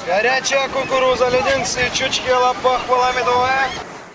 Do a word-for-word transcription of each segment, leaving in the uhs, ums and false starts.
Горячая кукуруза, леденцы, чучки, лапах, медовая.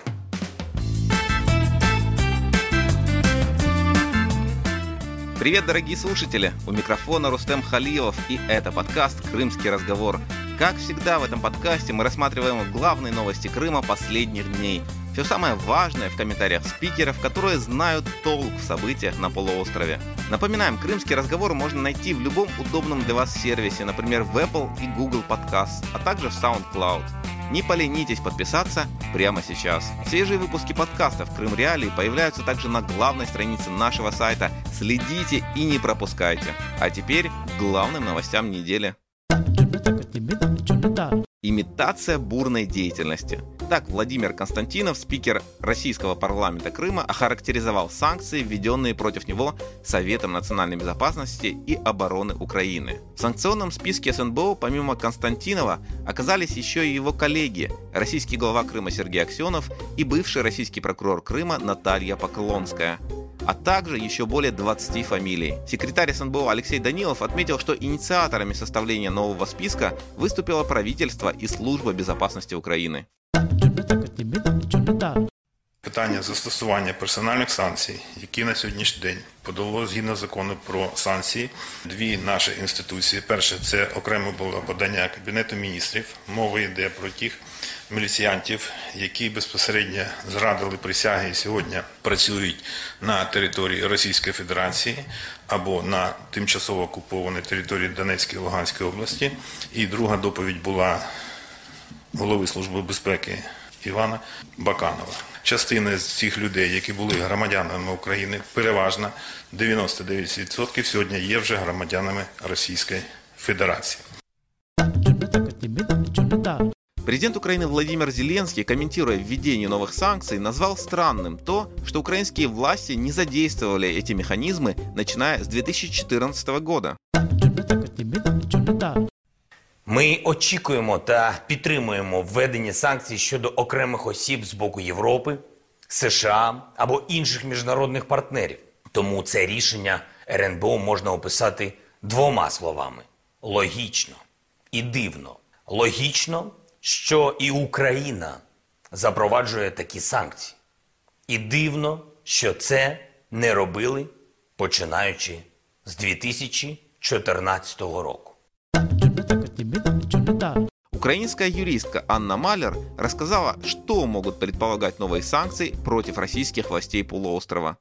Привет, дорогие слушатели! У микрофона Рустем Халилов, и это подкаст «Крымский разговор». Как всегда в этом подкасте мы рассматриваем главные новости Крыма последних дней. Все самое важное в комментариях спикеров, которые знают толк в событиях на полуострове. Напоминаем, «Крымский разговор» можно найти в любом удобном для вас сервисе, например, в Apple и Google Podcast, а также в SoundCloud. Не поленитесь подписаться прямо сейчас. Свежие выпуски подкастов «Крым Реалии» появляются также на главной странице нашего сайта. Следите и не пропускайте. А теперь к главным новостям недели. Имитация бурной деятельности. Так Владимир Константинов, спикер российского парламента Крыма, охарактеризовал санкции, введенные против него Советом национальной безопасности и обороны Украины. В санкционном списке СНБО помимо Константинова оказались еще и его коллеги, российский глава Крыма Сергей Аксенов и бывший российский прокурор Крыма Наталья Поклонская, а также еще более двадцати фамилий. Секретарь СНБО Алексей Данилов отметил, что инициаторами составления нового списка выступило правительство и Служба безопасности України. Питання застосування персональних санкцій, які на сьогоднішній день подало згідно закону про санкції дві наші інституції. Перше, це окремо було подання Кабінету міністрів. Мова йде про тих міліціянтів, які безпосередньо зрадили присяги і сьогодні працюють на території Російської Федерації або на тимчасово окупованій території Донецької і Луганської області. І друга доповідь була голови Служби безпеки Івана Баканова. Частина з цих людей, які були громадянами України, переважно дев'яносто дев'ять відсотків сьогодні є вже громадянами Російської Федерації. Президент Украины Владимир Зеленский, комментируя введение новых санкций, назвал странным то, что украинские власти не задействовали эти механизмы, начиная с две тысячи четырнадцатого года. Ми очікуємо та підтримуємо введення санкцій щодо окремих осіб з боку Європи, США або інших міжнародних партнерів. Тому це рішення РНБО можна описати двома словами – логічно і дивно. Логічно, що і Україна запроваджує такі санкції. І дивно, що це не робили, починаючи з две тысячи чотирнадцятого року. Украинская юристка Анна Малер рассказала, что могут предполагать новые санкции против российских властей полуострова.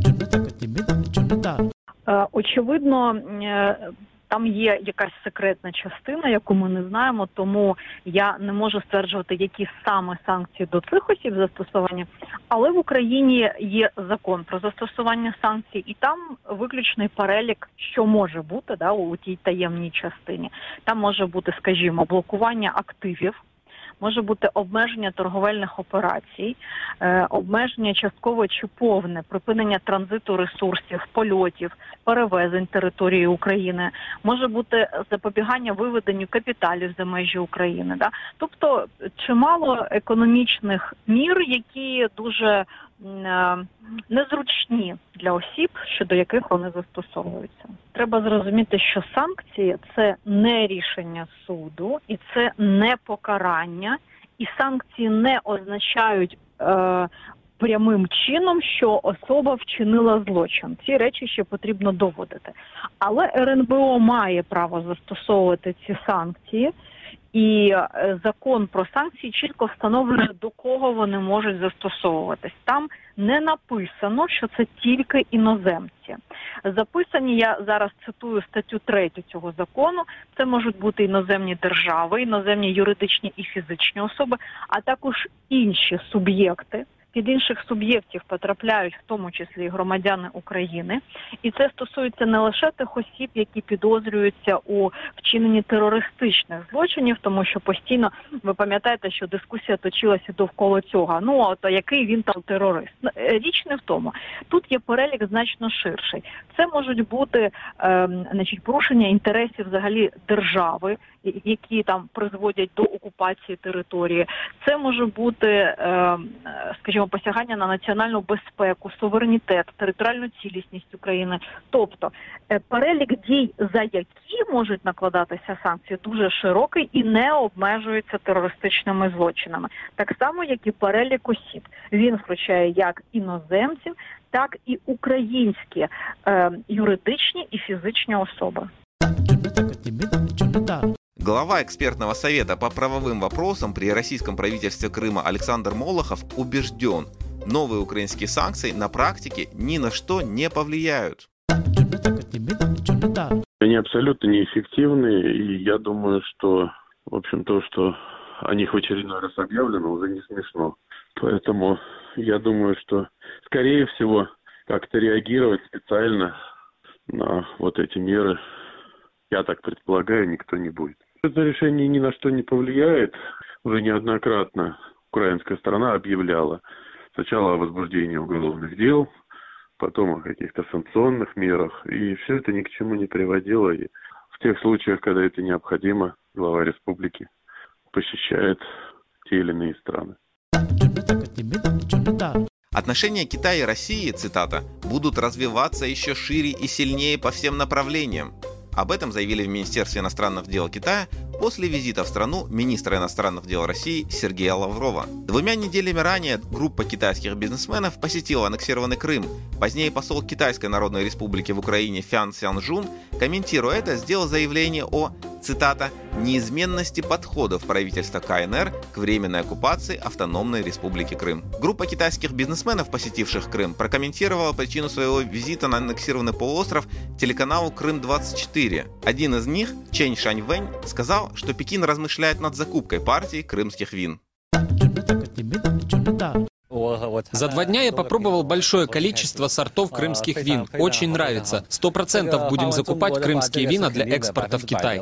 Очевидно, там є якась секретна частина, яку ми не знаємо, тому я не можу стверджувати, які саме санкції до цих осіб застосування. Але в Україні є закон про застосування санкцій, і там виключний перелік, що може бути, да, у тій таємній частині. Там може бути, скажімо, блокування активів, може бути обмеження торговельних операцій, е, обмеження часткове чи повне, припинення транзиту ресурсів, польотів, перевезень території України, може бути запобігання виведенню капіталів за межі України. Да? Тобто чимало економічних мір, які дуже е, незручні для осіб, щодо яких вони застосовуються. Треба зрозуміти, що санкції – це не рішення суду, і це не покарання, і санкції не означають е, прямим чином, що особа вчинила злочин. Ці речі ще потрібно доводити. Але РНБО має право застосовувати ці санкції, і закон про санкції чітко встановлює, до кого вони можуть застосовуватись. Там не написано, що це тільки іноземці. Записані, я зараз цитую статтю третю цього закону, це можуть бути іноземні держави, іноземні юридичні і фізичні особи, а також інші суб'єкти. Під інших суб'єктів потрапляють в тому числі і громадяни України. І це стосується не лише тих осіб, які підозрюються у вчиненні терористичних злочинів, тому що постійно, ви пам'ятаєте, що дискусія точилася довкола цього. Ну, от який він там терорист? Річ не в тому. Тут є перелік значно ширший. Це можуть бути е, значить, порушення інтересів взагалі держави, які там призводять до окупації території. Це може бути, е, скажімо, фактично посягання на національну безпеку, суверенітет, територіальну цілісність України. Тобто перелік дій, за які можуть накладатися санкції, дуже широкий і не обмежується терористичними злочинами. Так само, як і перелік осіб. Він включає як іноземців, так і українські е, юридичні і фізичні особи. Глава экспертного совета по правовым вопросам при российском правительстве Крыма Александр Молохов убежден, новые украинские санкции на практике ни на что не повлияют. Они абсолютно неэффективны, и я думаю, что, в общем, то, что о них в очередной раз объявлено, уже не смешно. Поэтому я думаю, что, скорее всего, как-то реагировать специально на вот эти меры, я так предполагаю, никто не будет. Это решение ни на что не повлияет. Уже неоднократно украинская сторона объявляла сначала о возбуждении уголовных дел, потом о каких-то санкционных мерах. И все это ни к чему не приводило. И в тех случаях, когда это необходимо, глава республики посещает те или иные страны. Отношения Китая и России, цитата, будут развиваться еще шире и сильнее по всем направлениям. Об этом заявили в Министерстве иностранных дел Китая после визита в страну министра иностранных дел России Сергея Лаврова. Двумя неделями ранее группа китайских бизнесменов посетила аннексированный Крым. Позднее посол Китайской Народной Республики в Украине Фян Цзянжун, комментируя это, сделал заявление о, цитата, «неизменности подходов правительства КНР к временной оккупации Автономной Республики Крым». Группа китайских бизнесменов, посетивших Крым, прокомментировала причину своего визита на аннексированный полуостров телеканалу Крым двадцать четыре. Один из них, Чэнь Шаньвэнь, сказал, что Пекин размышляет над закупкой партии крымских вин. За два дня я попробовал большое количество сортов крымских вин. Очень нравится. Сто процентов будем закупать крымские вина для экспорта в Китай.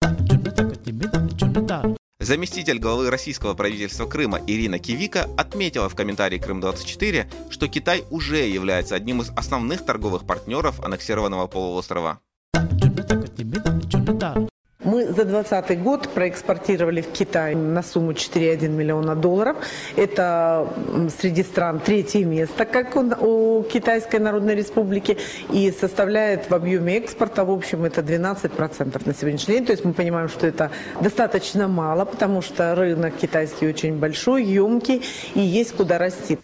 Заместитель главы российского правительства Крыма Ирина Кивика отметила в комментарии Крым двадцать четыре, что Китай уже является одним из основных торговых партнеров аннексированного полуострова. Мы за двадцатый год проэкспортировали в Китай на сумму четыре целых одна десятая миллиона долларов. Это среди стран третье место, как у Китайской Народной Республики, и составляет в объеме экспорта, в общем, это двенадцать процентов на сегодняшний день. То есть мы понимаем, что это достаточно мало, потому что рынок китайский очень большой, емкий, и есть куда расти.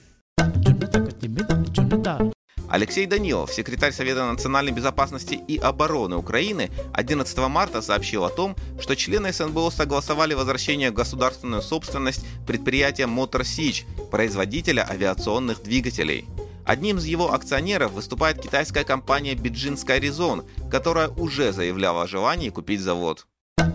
Алексей Данилов, секретарь Совета национальной безопасности и обороны Украины, одиннадцатого марта сообщил о том, что члены СНБО согласовали возвращение в государственную собственность предприятия Motor Sich, производителя авиационных двигателей. Одним из его акционеров выступает китайская компания Beijing Skyrizon, которая уже заявляла о желании купить завод.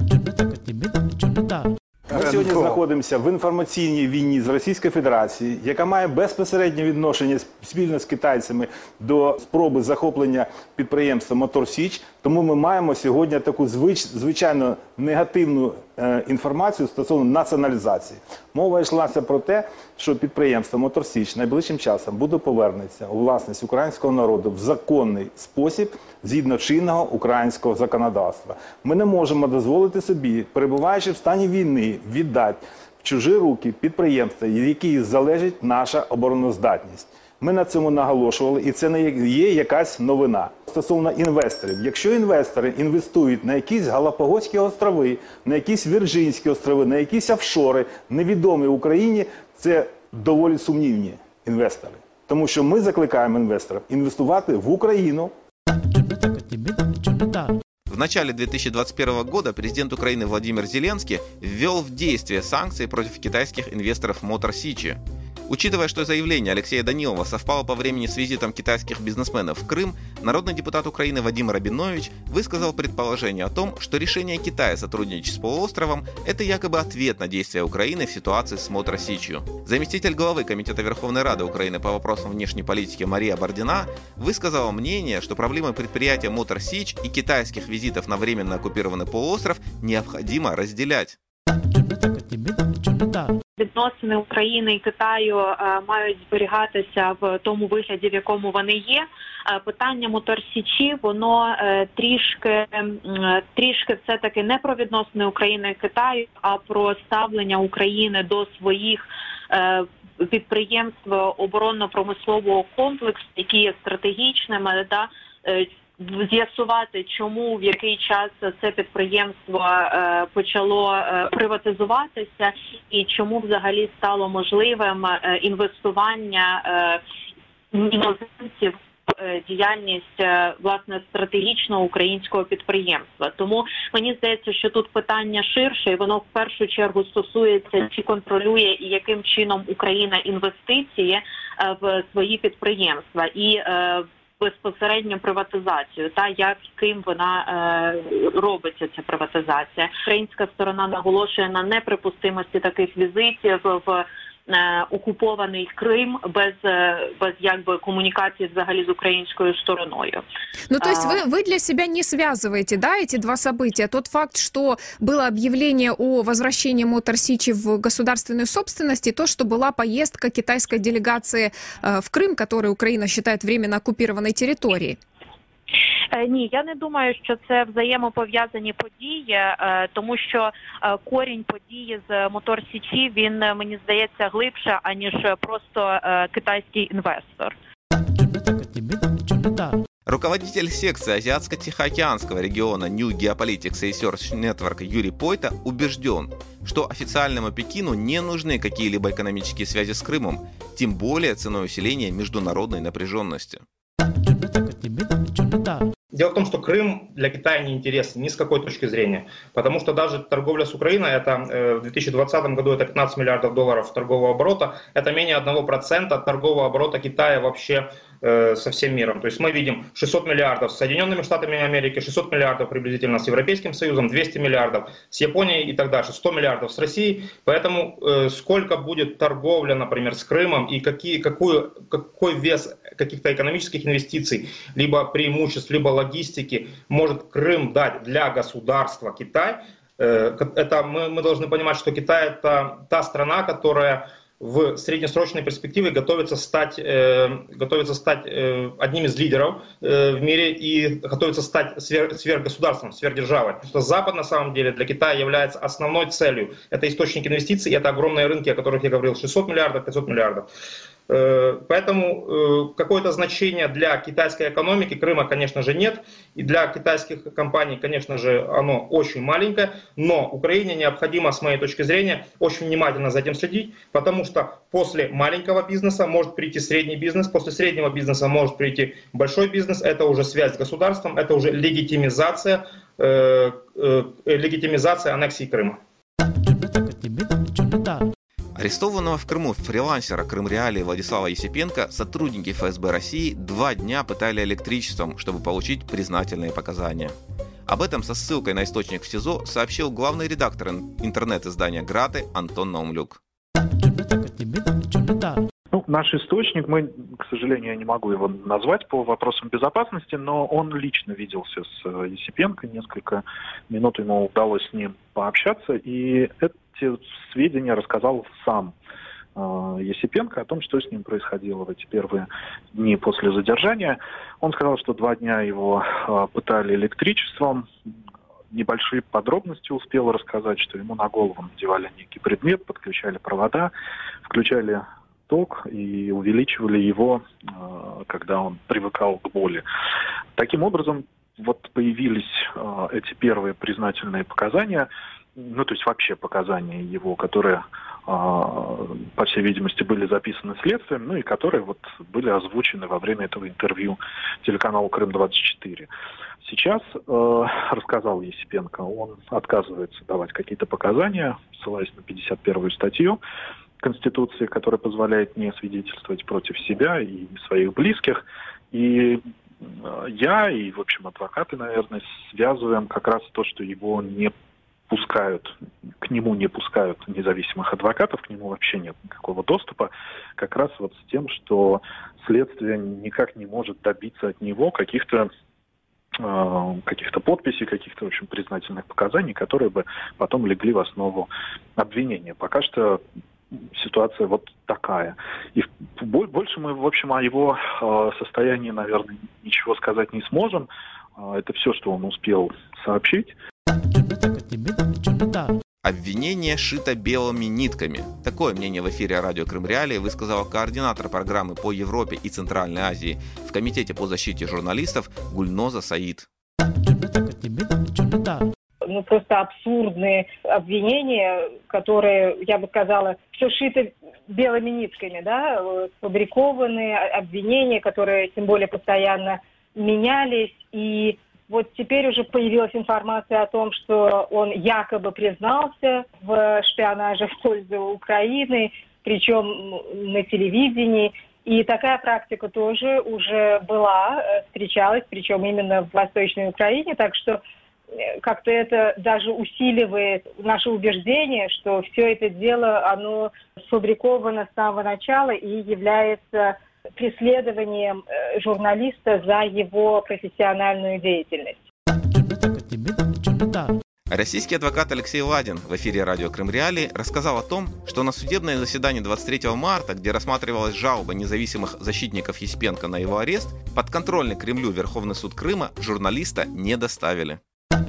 Ми сьогодні знаходимося в інформаційній війні з Російською Федерацією, яка має безпосереднє відношення спільно з китайцями до спроби захоплення підприємства Motor Sich. Тому ми маємо сьогодні таку звич, звичайно негативну е, інформацію стосовно націоналізації. Мова йшлася про те, що підприємство Motor Sich найближчим часом буде повернеться у власність українського народу в законний спосіб згідно чинного українського законодавства. Ми не можемо дозволити собі, перебуваючи в стані війни, віддати в чужі руки підприємства, від яких залежить наша обороноздатність. Ми на цьому наголошували, і це не є якась новина. Стосовно інвесторів. Якщо інвестори інвестують на якісь Галапагоські острови, на якісь Вірджинські острови, на якісь офшори, невідомі Україні, це доволі сумнівні інвестори. Тому що ми закликаємо інвесторів інвестувати в Україну. В начале две тысячи двадцать первого года президент Украины Владимир Зеленский ввел в действие санкции против китайских инвесторов Motor Sich. Учитывая, что заявление Алексея Данилова совпало по времени с визитом китайских бизнесменов в Крым, народный депутат Украины Вадим Рабинович высказал предположение о том, что решение Китая сотрудничать с полуостровом – это якобы ответ на действия Украины в ситуации с Motor Sich. Заместитель главы Комитета Верховной Рады Украины по вопросам внешней политики Мария Бардина высказала мнение, что проблемы предприятия Motor Sich и китайских визитов на временно оккупированный полуостров необходимо разделять. Відносини України і Китаю е, мають зберігатися в тому вигляді, в якому вони є. Е, питання Motor Sich, воно е, трішки, е, трішки все-таки не про відносини України і Китаю, а про ставлення України до своїх е, підприємств оборонно-промислового комплексу, які є стратегічними, да, з'ясувати, чому, в який час це підприємство е, почало е, приватизуватися і чому взагалі стало можливим е, інвестування е, іноземців в діяльність, е, власне, стратегічного українського підприємства. Тому мені здається, що тут питання ширше, і воно в першу чергу стосується, чи контролює і яким чином Україна інвестиції е, в свої підприємства. І е, безпосередньо приватизацію, та яким вона е, робиться, ця приватизація. Українська сторона наголошує на неприпустимості таких візитів в е, окупований Крим без, без якби коммуникации взагалі з украинской стороною. Ну, то есть вы, вы для себя не связываете, да, эти два события? Тот факт, что было объявление о возвращении Мотор Сичи в государственную собственность, и то, что была поездка китайской делегации э, в Крым, который Украина считает временно оккупированной территорией. Ні, я не думаю, що це взаємопов'язані події, тому що корінь події з Мотор Січі, він, мені здається, глибше, аніж просто китайський інвестор. Руководитель секции Азиатско-Тихоокеанского региона New Geopolitics Research Network Юрий Пойта убежден, что официальному Пекину не нужны какие-либо экономические связи с Крымом, тем более ценой усиления международной напряженности. Дело в том, что Крым для Китая не интересен ни с какой точки зрения, потому что даже торговля с Украиной, это э, в две тысячи двадцатом году это пятнадцать миллиардов долларов торгового оборота, это менее одного процента торгового оборота Китая вообще э, со всем миром. То есть мы видим шестьсот миллиардов с Соединенными Штатами Америки, шестьсот миллиардов приблизительно с Европейским Союзом, двести миллиардов с Японией и так дальше, сто миллиардов с Россией. Поэтому э, сколько будет торговля, например, с Крымом и какие, какую, какой вес каких-то экономических инвестиций, либо преимуществ, либо логистики может Крым дать для государства Китай, это мы, мы должны понимать, что Китай это та страна, которая в среднесрочной перспективе готовится стать, э, готовится стать э, одним из лидеров э, в мире и готовится стать свер, сверхгосударством, сверхдержавой. Потому что Запад на самом деле для Китая является основной целью. Это источник инвестиций, это огромные рынки, о которых я говорил, шестьсот миллиардов, пятьсот миллиардов. Поэтому какое-то значение для китайской экономики Крыма, конечно же, нет. И для китайских компаний, конечно же, оно очень маленькое. Но Украине необходимо, с моей точки зрения, очень внимательно за этим следить. Потому что после маленького бизнеса может прийти средний бизнес. После среднего бизнеса может прийти большой бизнес. Это уже связь с государством. Это уже легитимизация, э, э, легитимизация аннексии Крыма. Арестованного в Крыму фрилансера Крымреалии Владислава Есипенко сотрудники эф эс бэ России два дня пытали электричеством, чтобы получить признательные показания. Об этом со ссылкой на источник в СИЗО сообщил главный редактор интернет-издания «Граты» Антон Наумлюк. Ну, наш источник, мы, к сожалению, я не могу его назвать по вопросам безопасности, но он лично виделся с Есипенко, несколько минут ему удалось с ним пообщаться, и эти сведения рассказал сам Есипенко о том, что с ним происходило в эти первые дни после задержания. Он сказал, что два дня его пытали электричеством, небольшие подробности успел рассказать, что ему на голову надевали некий предмет, подключали провода, включали ток и увеличивали его, когда он привыкал к боли. Таким образом, вот появились эти первые признательные показания, ну, то есть вообще показания его, которые, по всей видимости, были записаны следствием, ну и которые вот были озвучены во время этого интервью телеканалу Крым двадцать четыре. Сейчас, э, рассказал Есипенко, он отказывается давать какие-то показания, ссылаясь на пятьдесят первую статью Конституции, которая позволяет не свидетельствовать против себя и своих близких. И я, и, в общем, адвокаты, наверное, связываем как раз то, что его не пускают, к нему не пускают независимых адвокатов, к нему вообще нет никакого доступа, как раз вот с тем, что следствие никак не может добиться от него каких-то э, каких-то подписей, каких-то, в общем, признательных показаний, которые бы потом легли в основу обвинения. Пока что ситуация вот такая. И больше мы, в общем, о его э, состоянии, наверное, ничего сказать не сможем. Э, это все, что он успел сообщить. Обвинение шито белыми нитками. Такое мнение в эфире радио Крым Реалии высказала координатор программы по Европе и Центральной Азии в Комитете по защите журналистов Гульноза Саид. Ну, просто абсурдные обвинения, которые, я бы сказала, все шито белыми нитками, да, сфабрикованные обвинения, которые, тем более, постоянно менялись. И вот теперь уже появилась информация о том, что он якобы признался в шпионаже в пользу Украины, причем на телевидении. И такая практика тоже уже была, встречалась, причем именно в Восточной Украине. Так что как-то это даже усиливает наше убеждение, что все это дело, оно сфабриковано с самого начала и является преследованием журналиста за его профессиональную деятельность. Российский адвокат Алексей Ладин в эфире радио Крым Реалии рассказал о том, что на судебное заседание двадцать третьего марта, где рассматривалась жалоба независимых защитников Есипенко на его арест, подконтрольный Кремлю Верховный суд Крыма журналиста не доставили.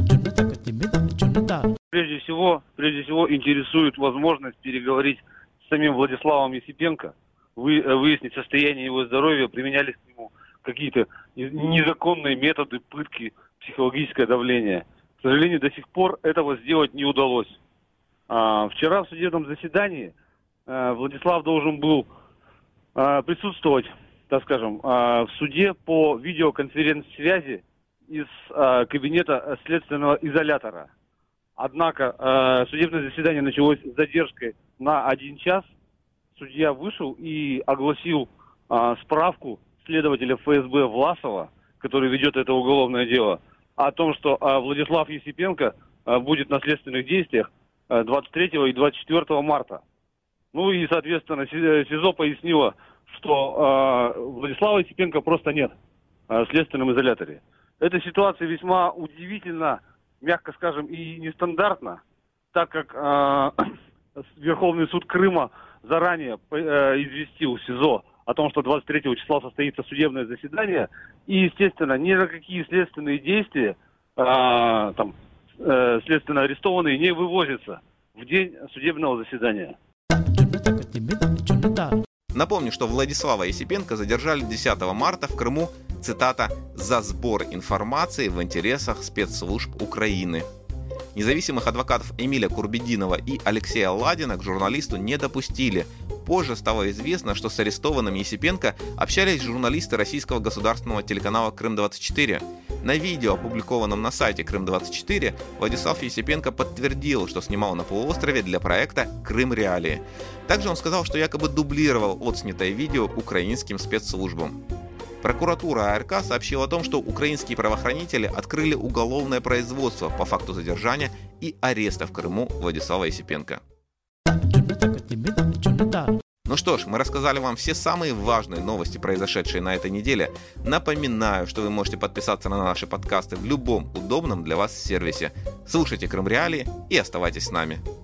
Прежде всего, прежде всего интересует возможность переговорить с самим Владиславом Есипенко, вы, выяснить состояние его здоровья, применялись к нему какие-то незаконные методы пытки, психологическое давление. К сожалению, до сих пор этого сделать не удалось. А, вчера в судебном заседании а, Владислав должен был а, присутствовать, так скажем, а, в суде по видеоконференц-связи из а, кабинета следственного изолятора. Однако а, судебное заседание началось с задержкой на один час. Судья вышел и огласил а, справку следователя эф эс бэ Власова, который ведет это уголовное дело, о том, что а, Владислав Есипенко а, будет на следственных действиях а, двадцать третьего и двадцать четвёртого марта. Ну и, соответственно, СИЗО пояснило, что а, Владислава Есипенко просто нет а, в следственном изоляторе. Эта ситуация весьма удивительна, мягко скажем, и нестандартна, так как э, Верховный суд Крыма заранее э, известил СИЗО о том, что двадцать третьего числа состоится судебное заседание, и, естественно, ни на какие следственные действия э, там, э, следственно арестованные не вывозятся в день судебного заседания. Напомню, что Владислава Есипенко задержали десятого марта в Крыму, цитата, «за сбор информации в интересах спецслужб Украины». Независимых адвокатов Эмиля Курбединова и Алексея Ладина к журналисту не допустили. Позже стало известно, что с арестованным Есипенко общались журналисты российского государственного телеканала Крым двадцать четыре. На видео, опубликованном на сайте Крым двадцать четыре, Владислав Есипенко подтвердил, что снимал на полуострове для проекта Крым Реалии. Также он сказал, что якобы дублировал отснятое видео украинским спецслужбам. Прокуратура а эр ка сообщила о том, что украинские правоохранители открыли уголовное производство по факту задержания и ареста в Крыму Владислава Есипенко. Ну что ж, мы рассказали вам все самые важные новости, произошедшие на этой неделе. Напоминаю, что вы можете подписаться на наши подкасты в любом удобном для вас сервисе. Слушайте Крым Реалии и оставайтесь с нами.